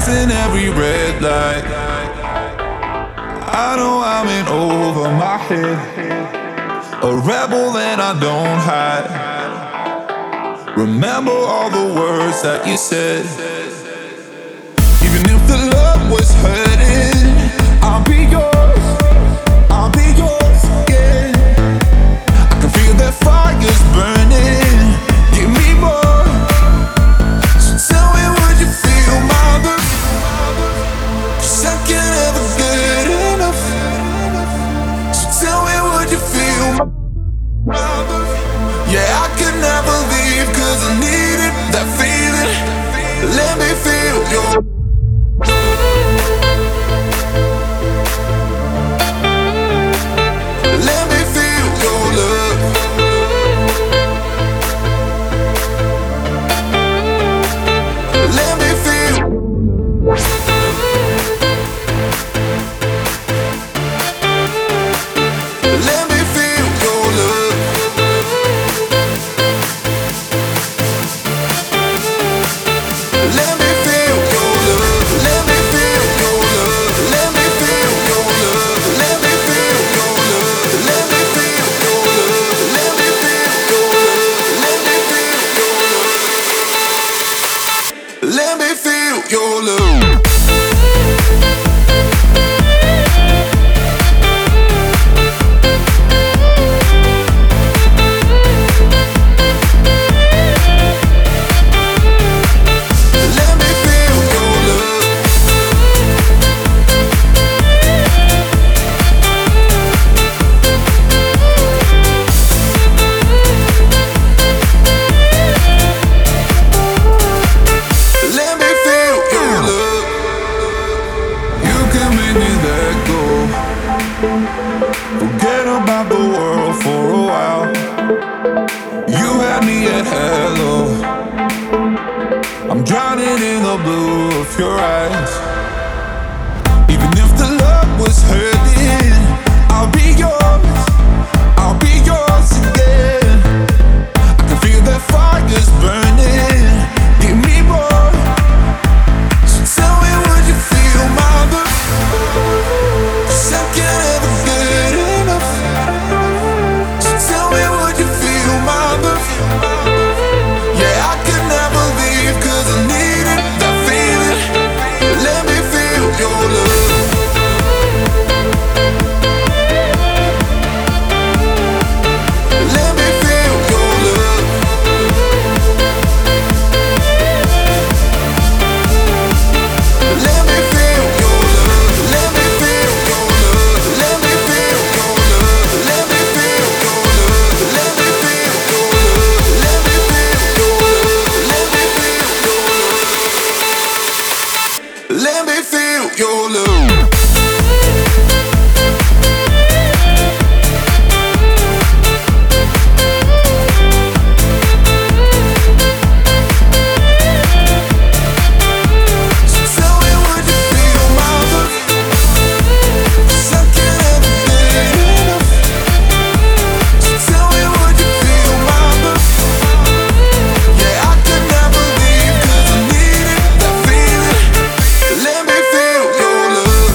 passing every red light. I know I'm in over my head, a rebel that I don't hide. Remember all the words that you said. Even if the love was hurting, I'll be yours, I'll be yours again. I can feel that fire's burning, give me more. So tell me, would you feel my love? 'Cause I can't ever get enough. So tell me, would you feel my love? Yeah, I could never leave 'cause I needed that feeling. Let me feel your let me feel your love. Let me feel. Let me feel your love. Let me feel your love. Let me feel your love. Let me feel your love. Let me feel your love. Let me feel your love. Let me feel your love. Let me feel your love. Let me feel your love. Forget about the world for a while. You had me at hello. I'm drowning in the blue of your eyes. Even if the love was hurting, I'll be yours, I'll be yours again. I can feel that fire's burning, give me more. So tell me, would you feel my love? 'Cause I can't ever get enough. So tell me, would you feel my love? Yeah, I could never leave 'cause I needed that feeling. Let me feel your love. Let me feel your love. Let me feel your love. Let me feel your love. Let me feel your love. Let me feel your love. Let me feel your love. Let me feel your love. Let me feel your love. Let me feel your love. So tell me, would you feel my love? 'Cause I can't ever get enough. So tell me, would you feel my love? Yeah, I could never leave 'cause I needed that feeling. Let me feel your love.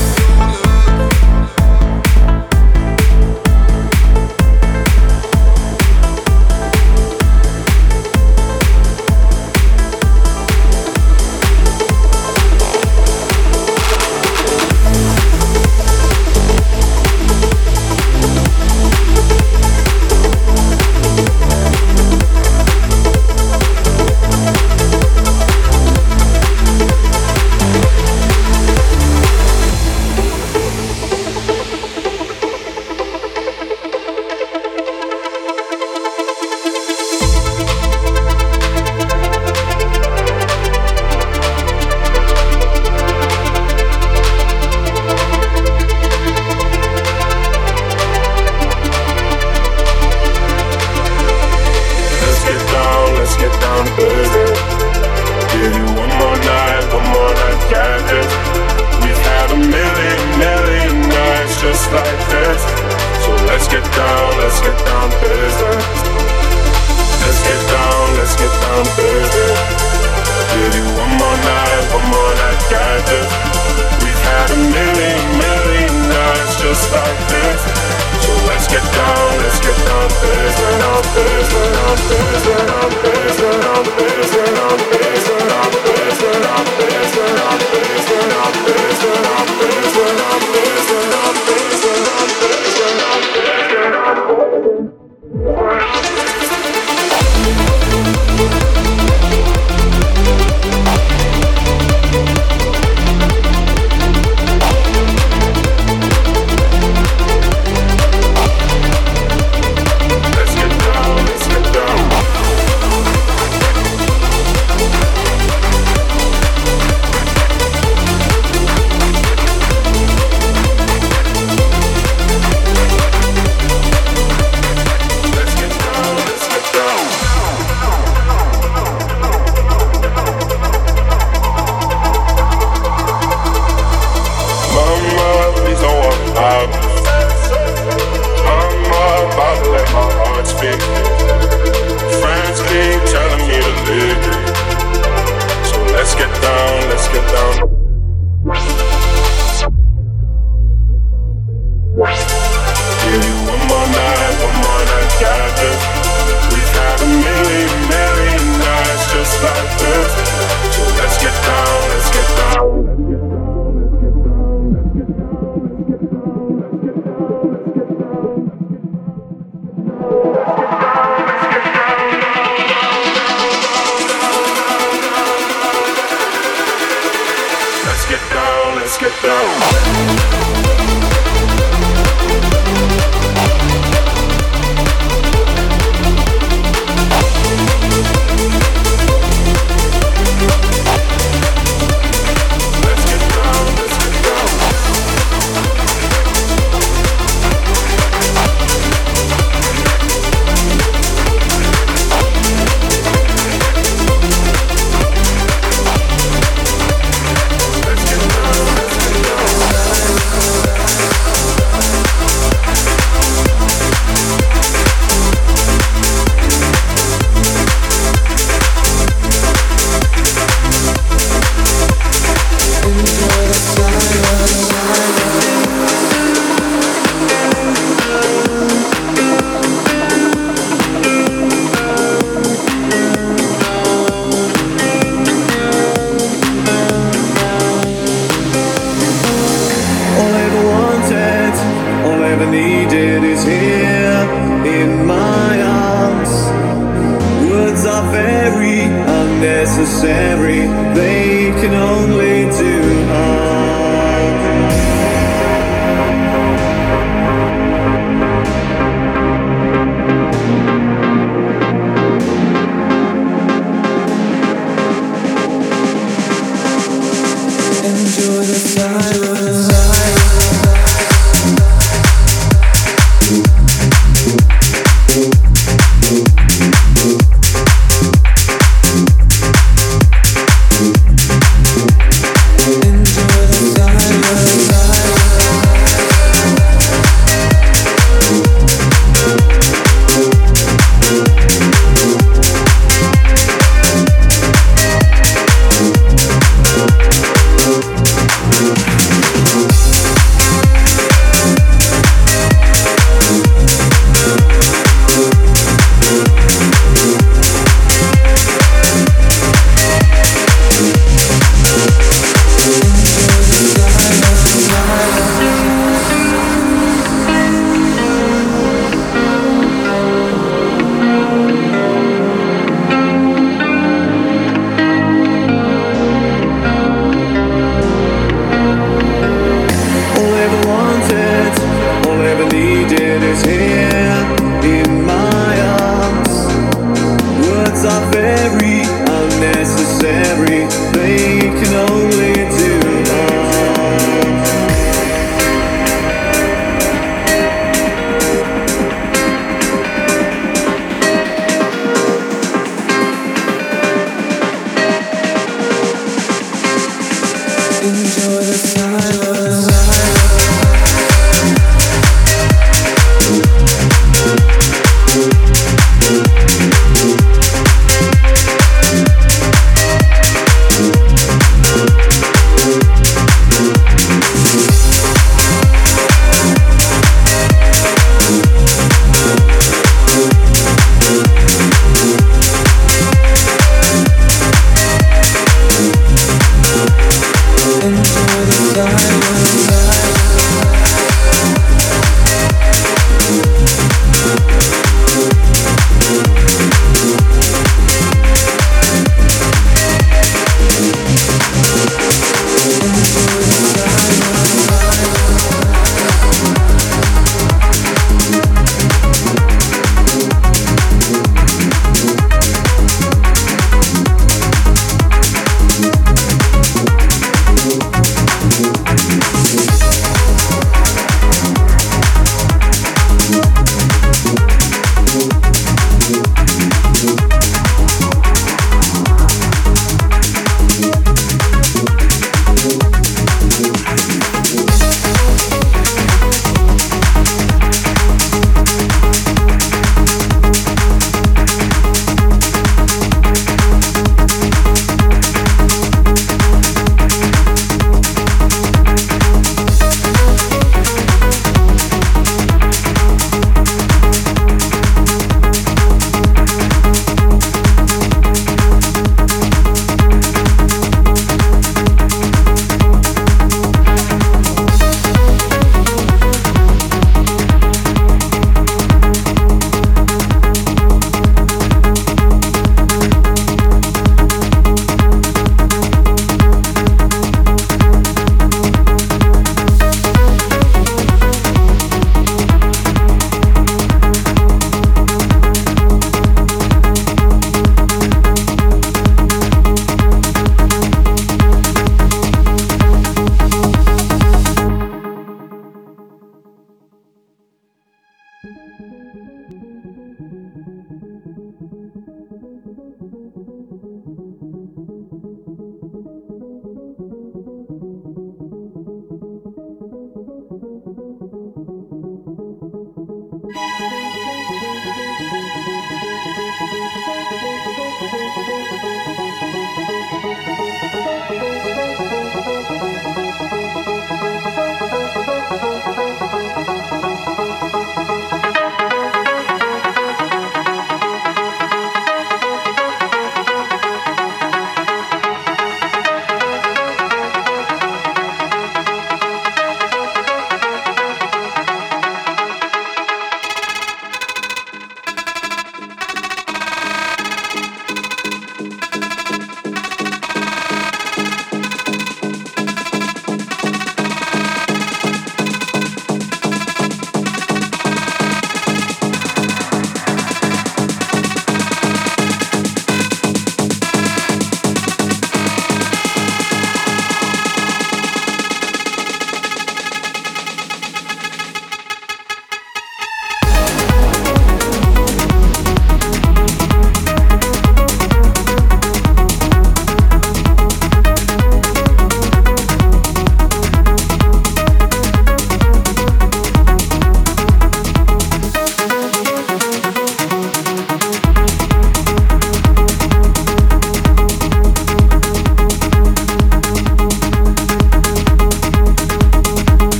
Let's get down to business. Give you one more night, got this. We've had a million nights just like this. So let's get down to business. Let's get down to business. Give you one more night, got just like this. So let's get down, let's get down, let's get down, let's get down, let's get down, let's get down, let's get down, let's get down, let's get down, let's get down, let's get down, let's get down, let's get down, let's get down, let's get down, let's get down, let's get down.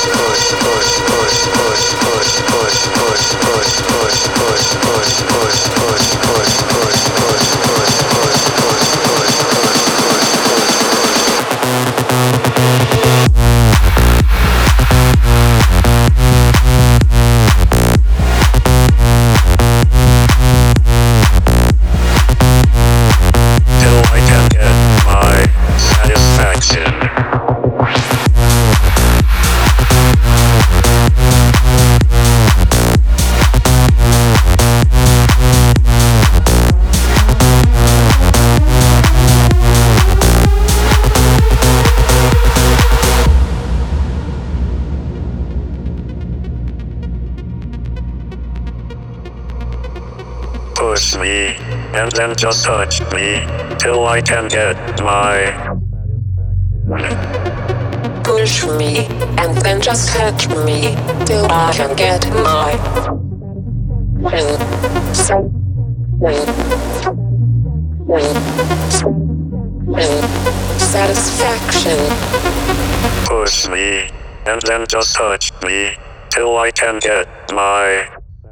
Push me, and then just touch me, till I can get my Push me, and then just touch me, till I can get my satisfaction. Push me, and then just touch me, till I can get my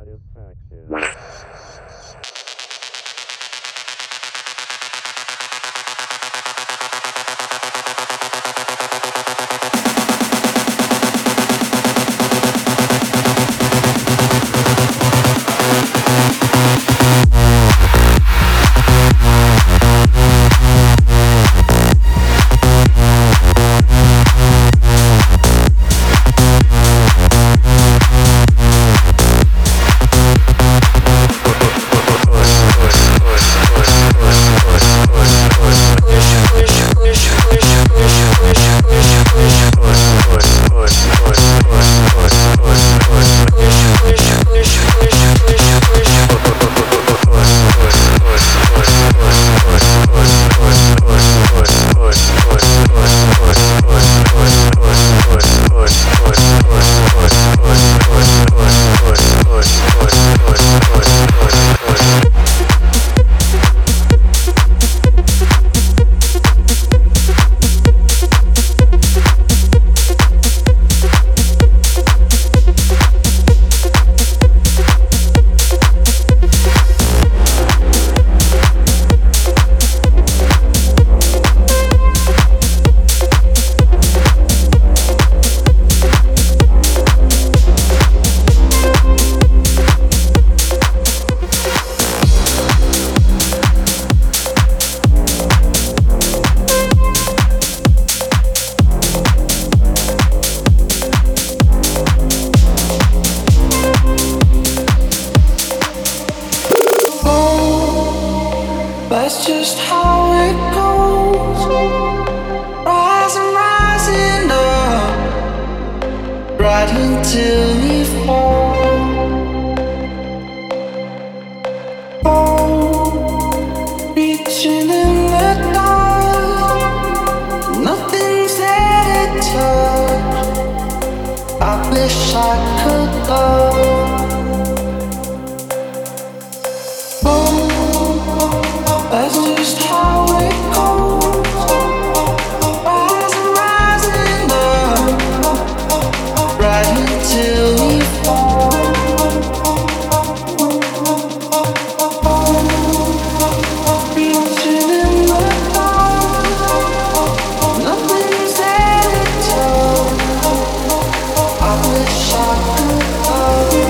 That's just how it goes. Rising, rising up, right until we fall. Oh, reaching in the dark, nothing's there to touch. I wish I could love. That's just how it goes. Rising, rising up, right until we fall. Reaching in the dark, nothing's there to touch. I wish I could love.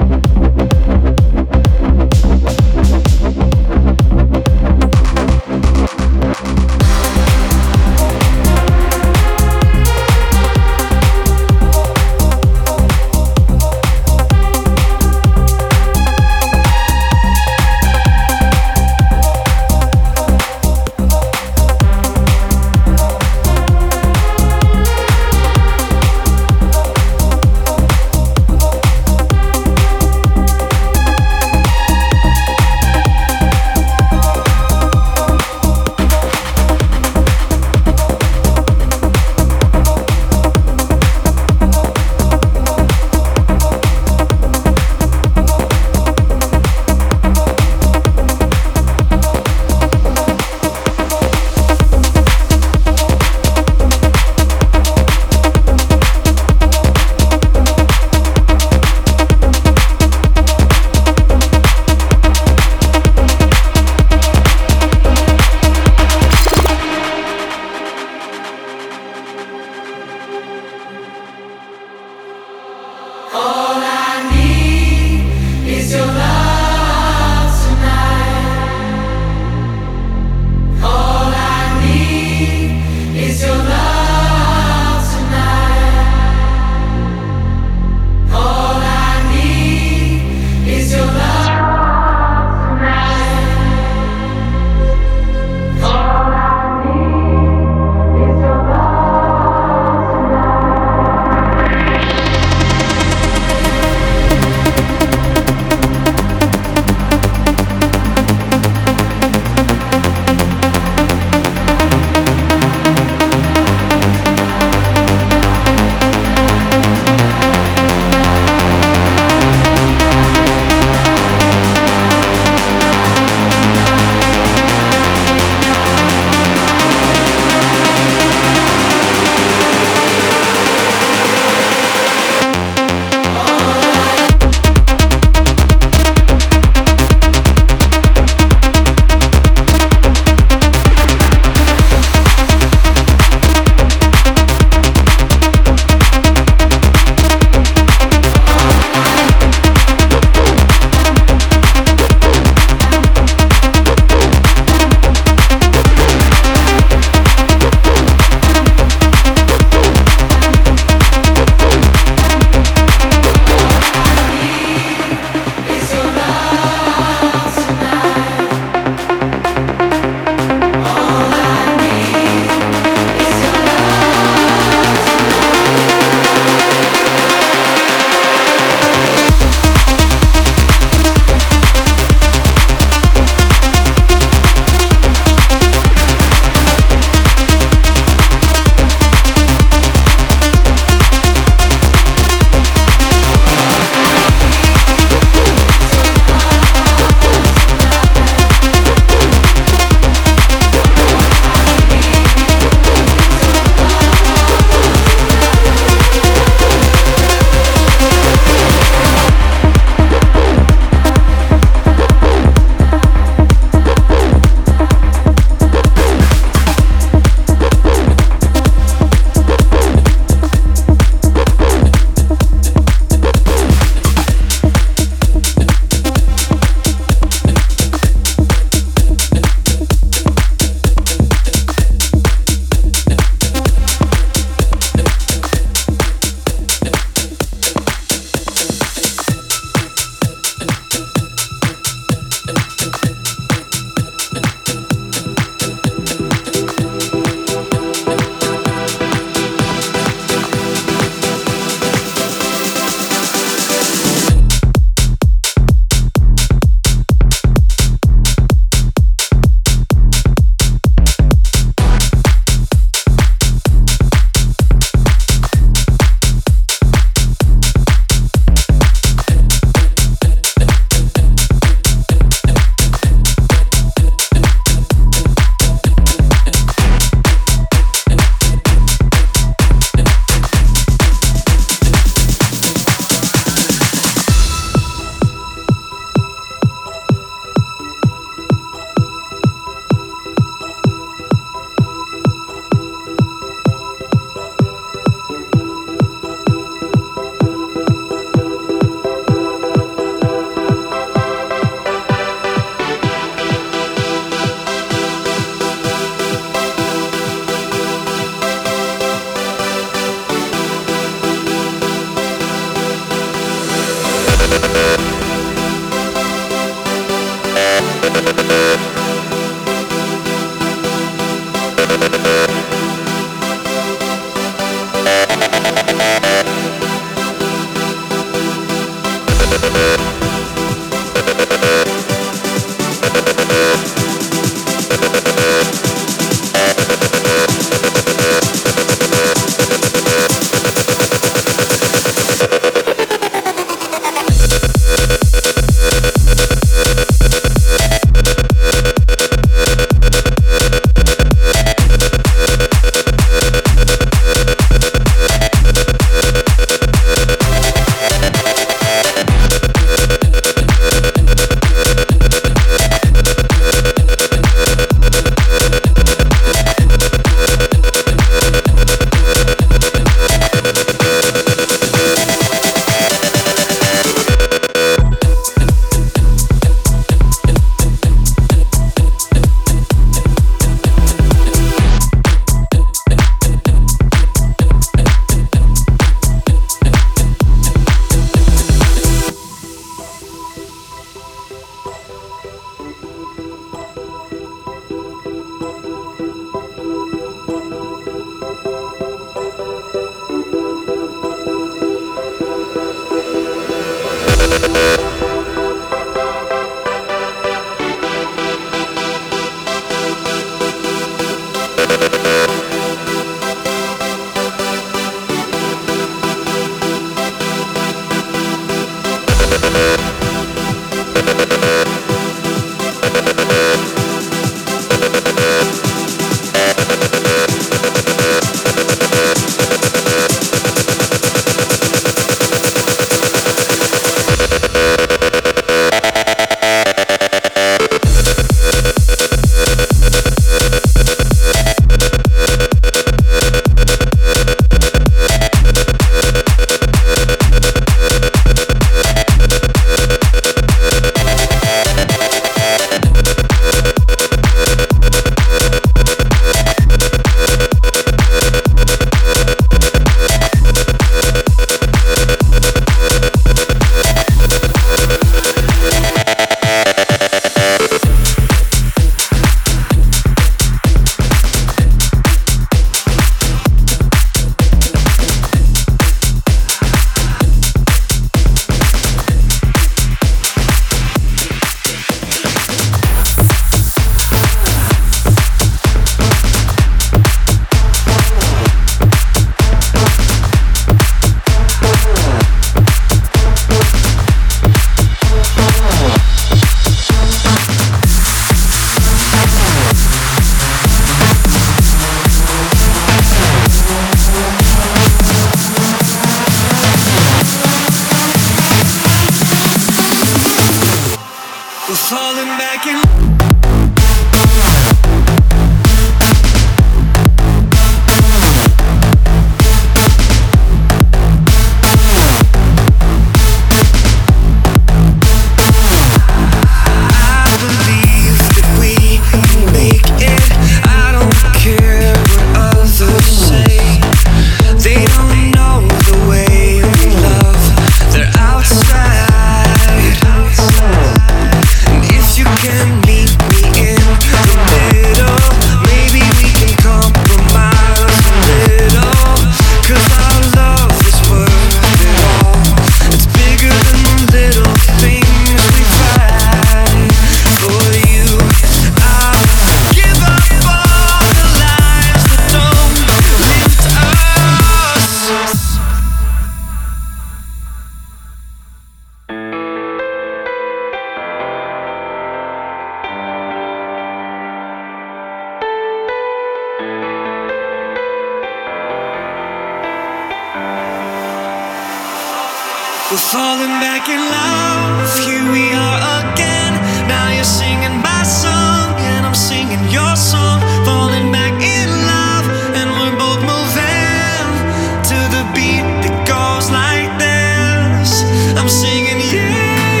We're falling back in love, here we are again. Now you're singing my song, and I'm singing your song. Falling back in love, and we're both moving to the beat that goes like this. I'm singing yeah,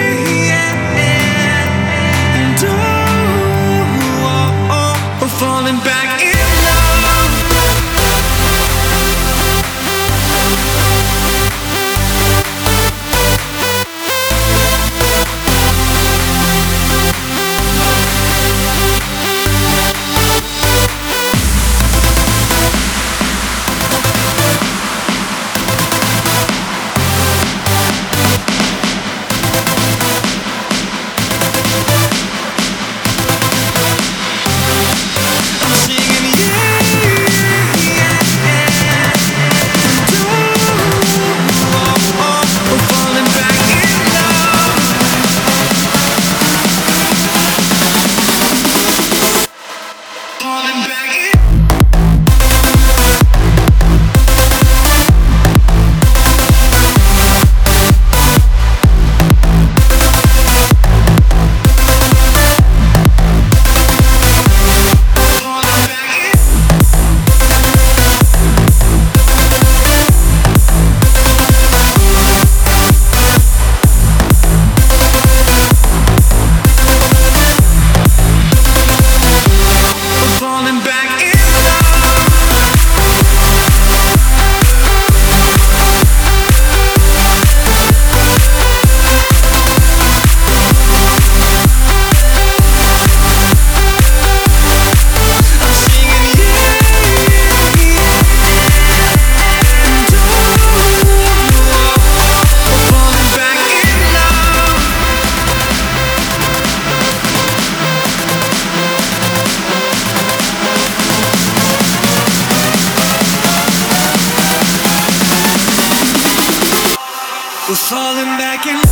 yeah, and oh, we're falling back in love. We're falling back in.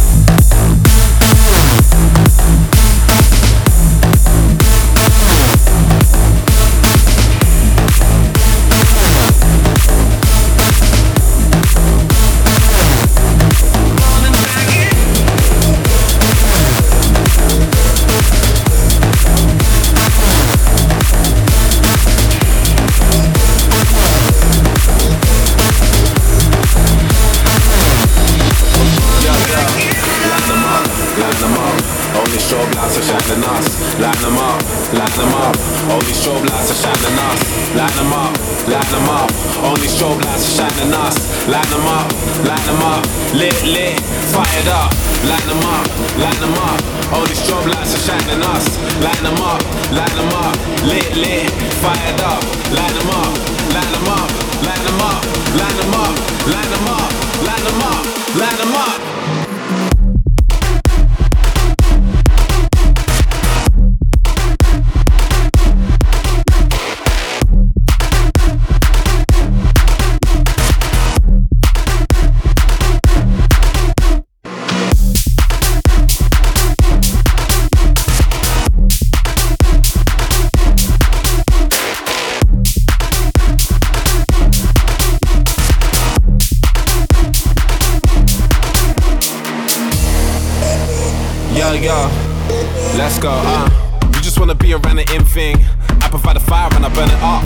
Yo, let's go, You just wanna be around the in thing. I provide the fire and I burn it up.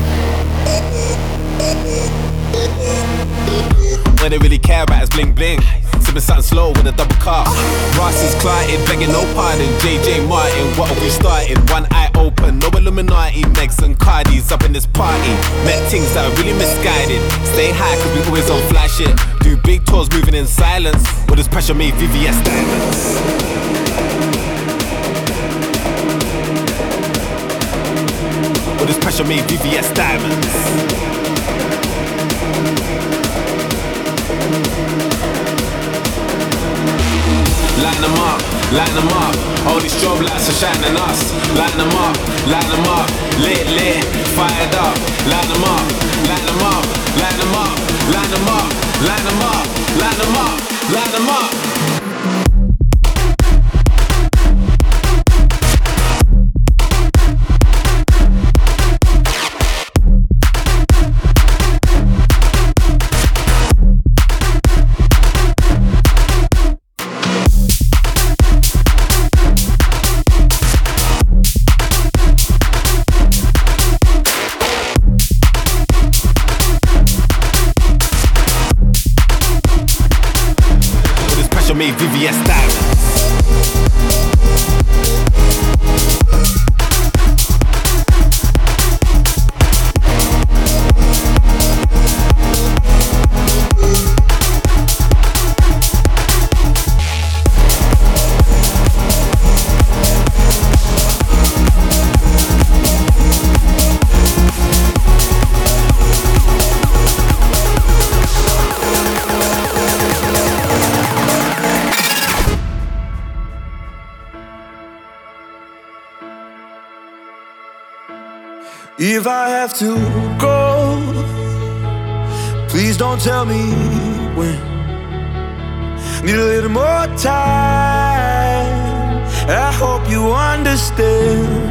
What they really care about is bling bling. Sipping something slow with a double cup. Ross is Clyde, begging no pardon. JJ Martin, what have we started? One eye open, no Illuminati. Megs and Cardis up in this party. Met things that are really misguided. Stay high cause we always on fly shit. Do big tours moving in silence. With this pressure made VVS diamonds. With this pressure made VVS diamonds. Line them up, line them up. All these strobe lights are shining us. Line them up, lit, lit, fired up. Line them up, line them up, line them up, line them up, line them up, line them up, line them up. If I have to go, please don't tell me when. Need a little more time. I hope you understand.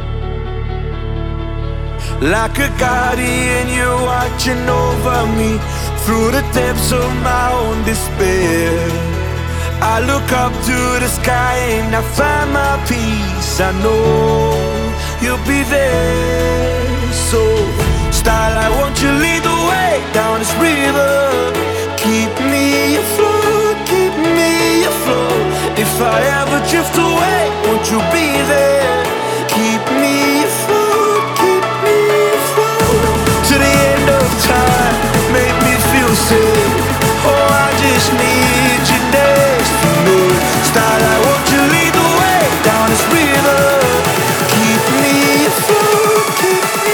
Like a guardian, you're watching over me through the depths of my own despair. I look up to the sky and I find my peace. I know you'll be there. So, starlight, won't you lead the way down this river? Keep me afloat, keep me afloat. If I ever drift away, won't you be there? Keep me afloat, keep me afloat. To the end of time, make me feel safe. Oh, I just need you next to me. Starlight, won't you lead the way down this river? Keep me afloat, keep me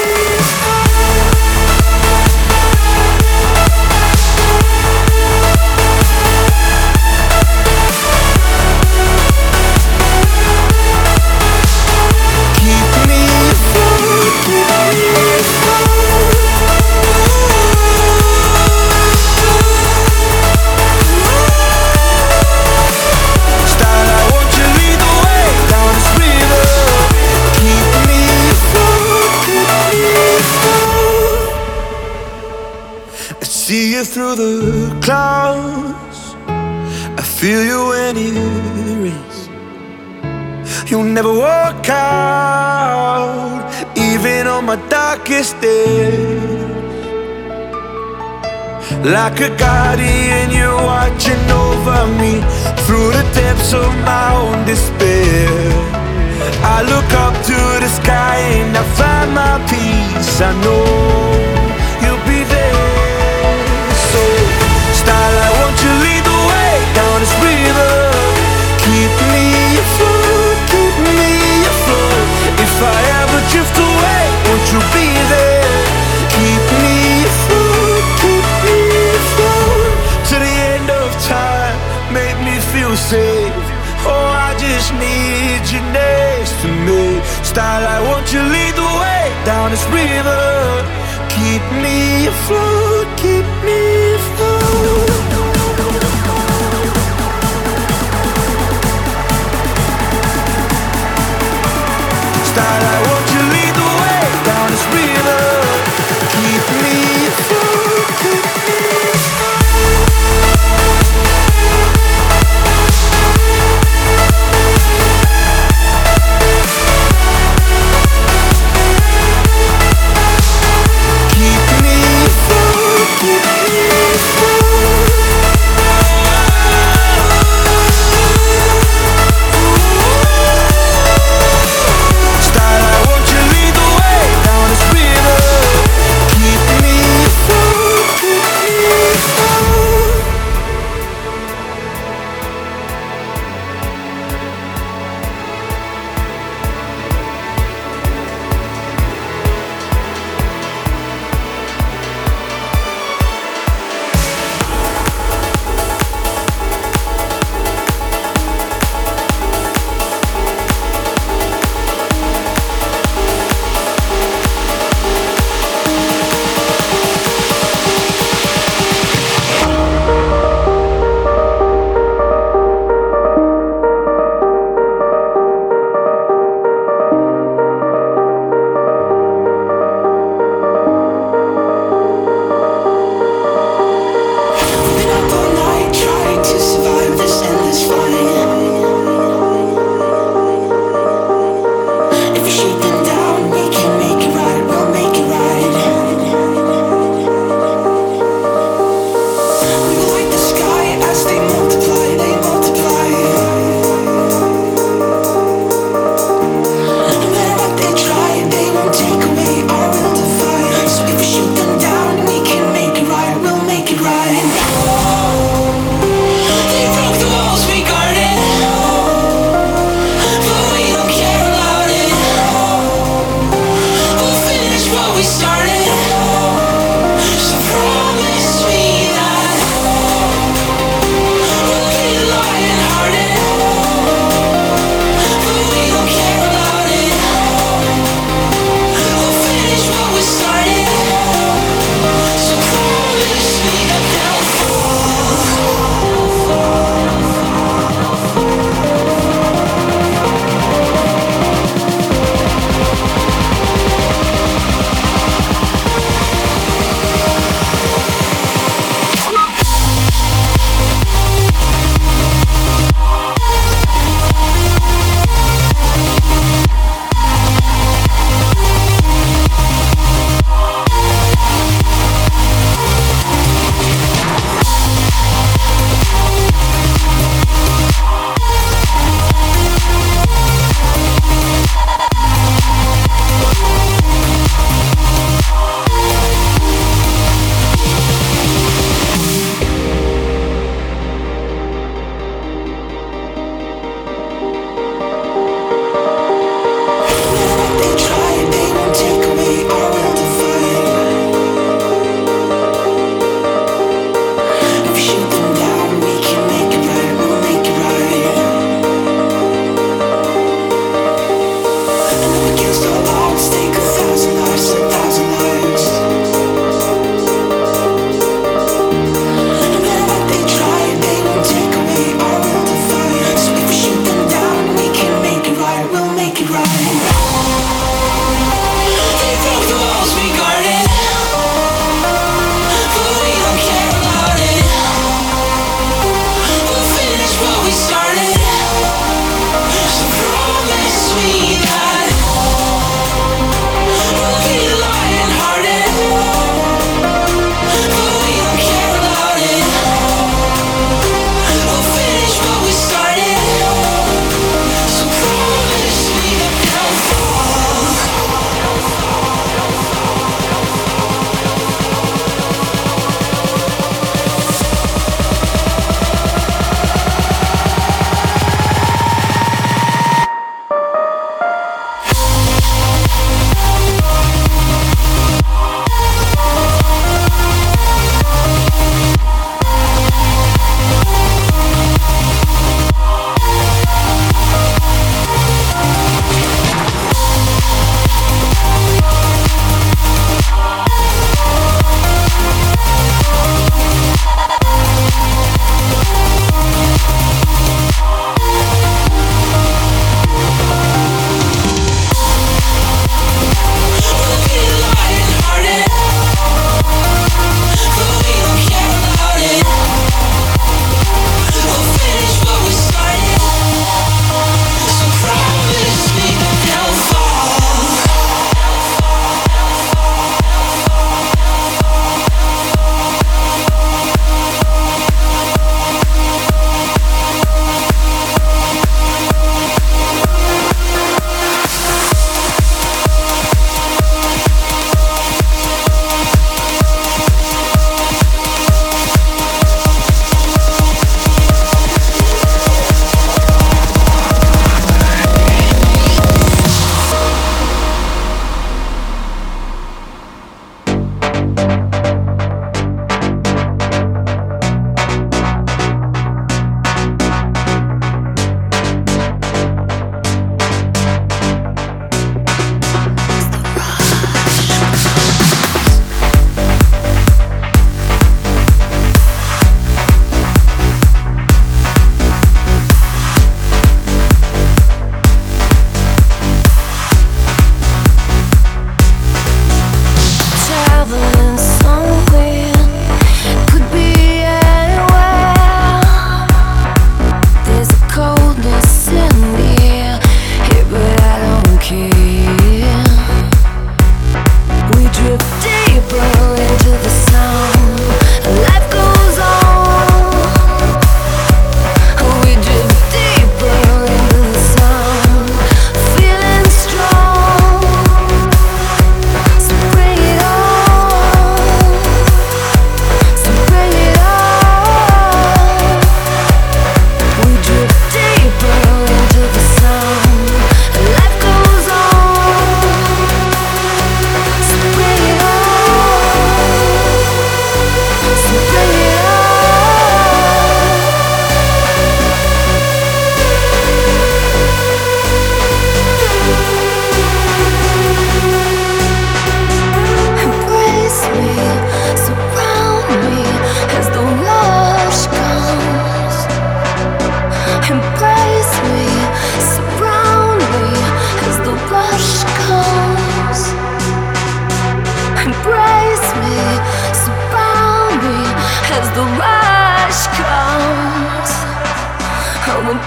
through the clouds. I feel you when it rains. You'll never walk out, even on my darkest days. Like a guardian, you're watching over me through the depths of my own despair. I look up to the sky and I find my peace. I know you'll be there. Starlight, won't you lead the way down this river? Keep me afloat, keep me afloat. If I ever drift away, won't you be there? Keep me afloat, keep me afloat. To the end of time, make me feel safe. Oh, I just need you next to me. Starlight, won't you lead the way down this river? Keep me afloat, keep me afloat. Starlight, won't you lead the way down this river? Keep me afloat, keep me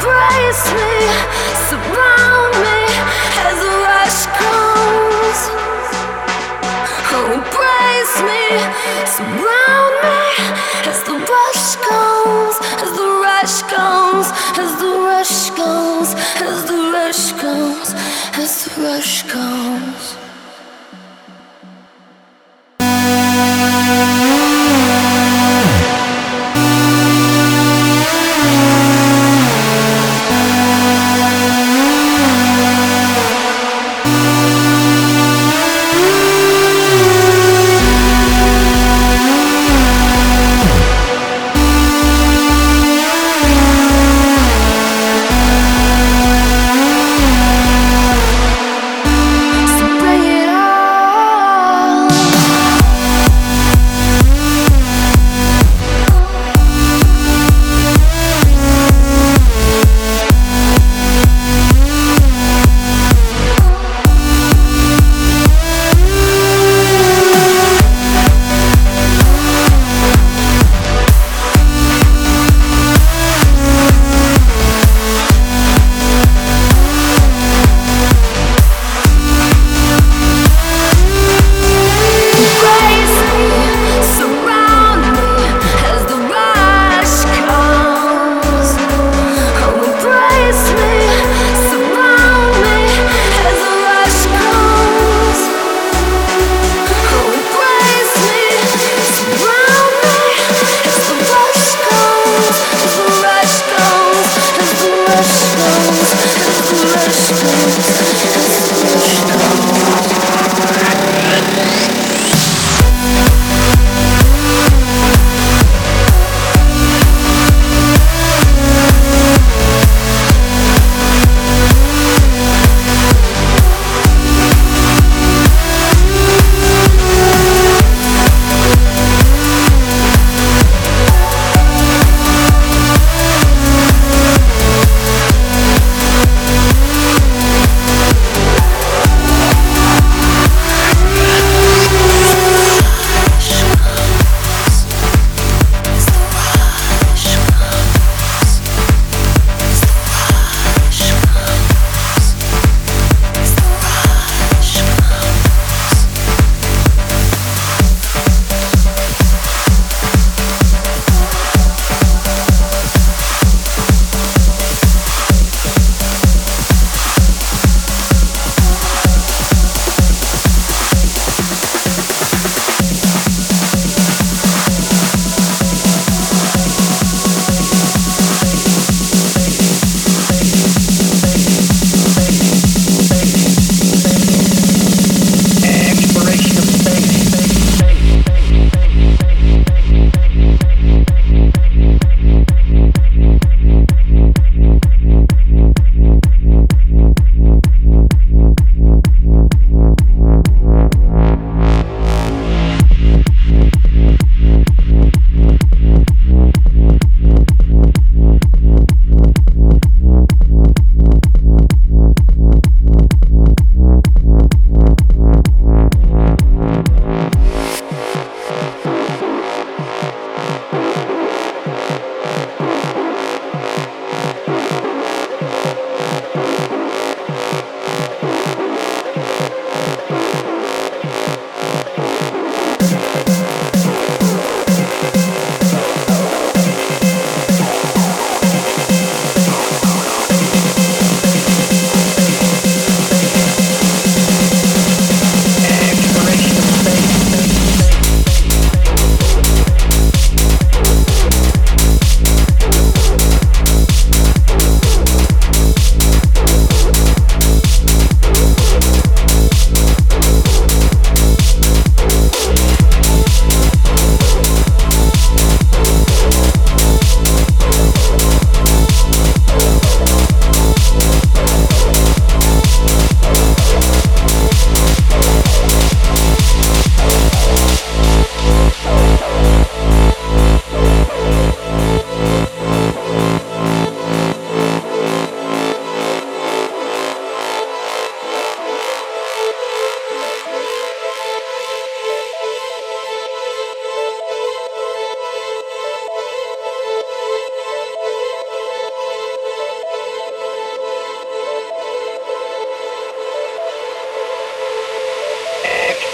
embrace me, surround me as the rush comes. Oh, embrace me, surround me as the rush comes, as the rush comes, as the rush comes, as the rush comes, as the rush comes.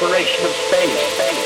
exploration of space.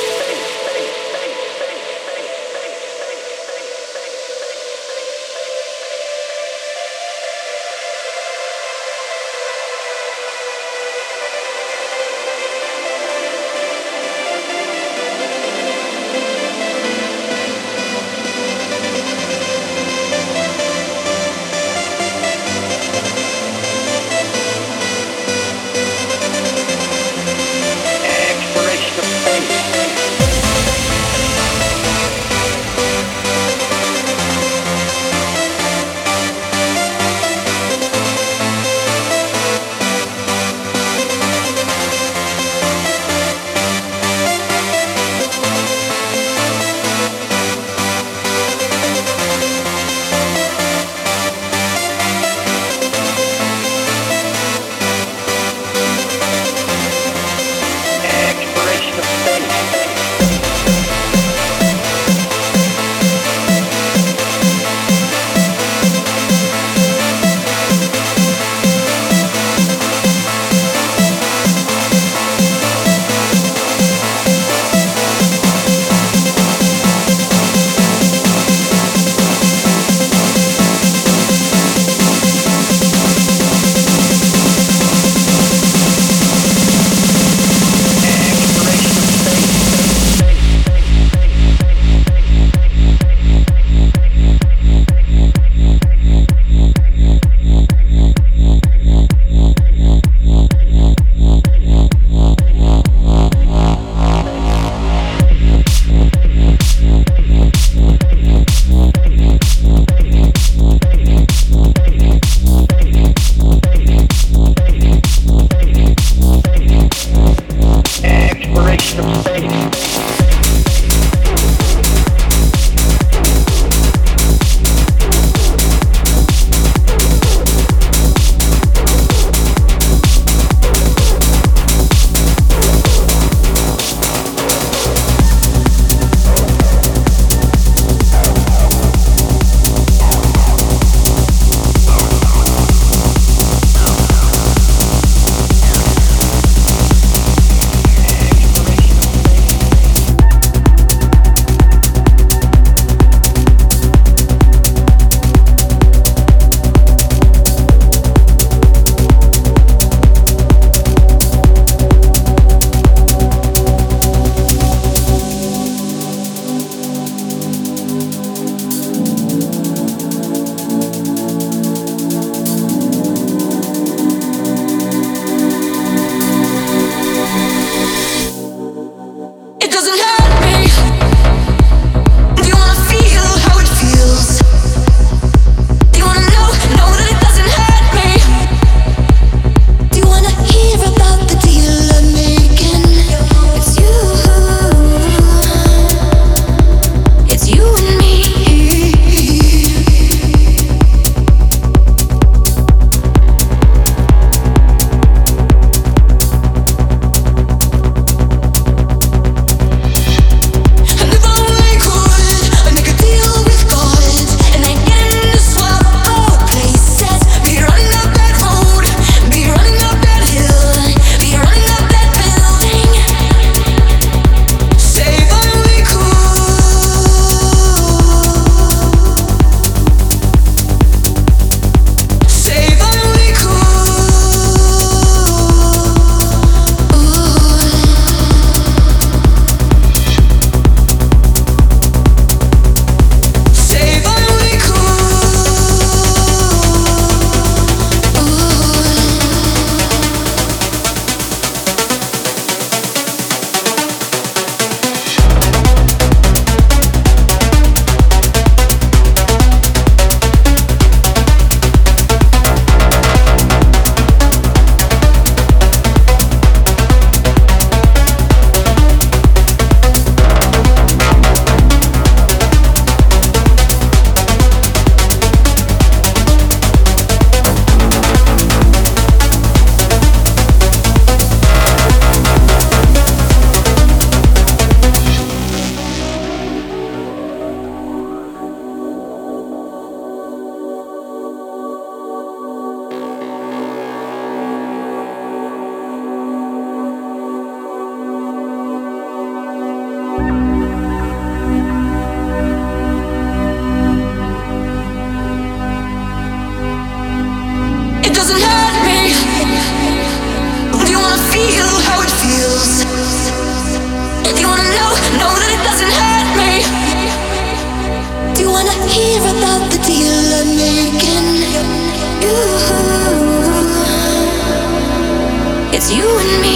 you and me.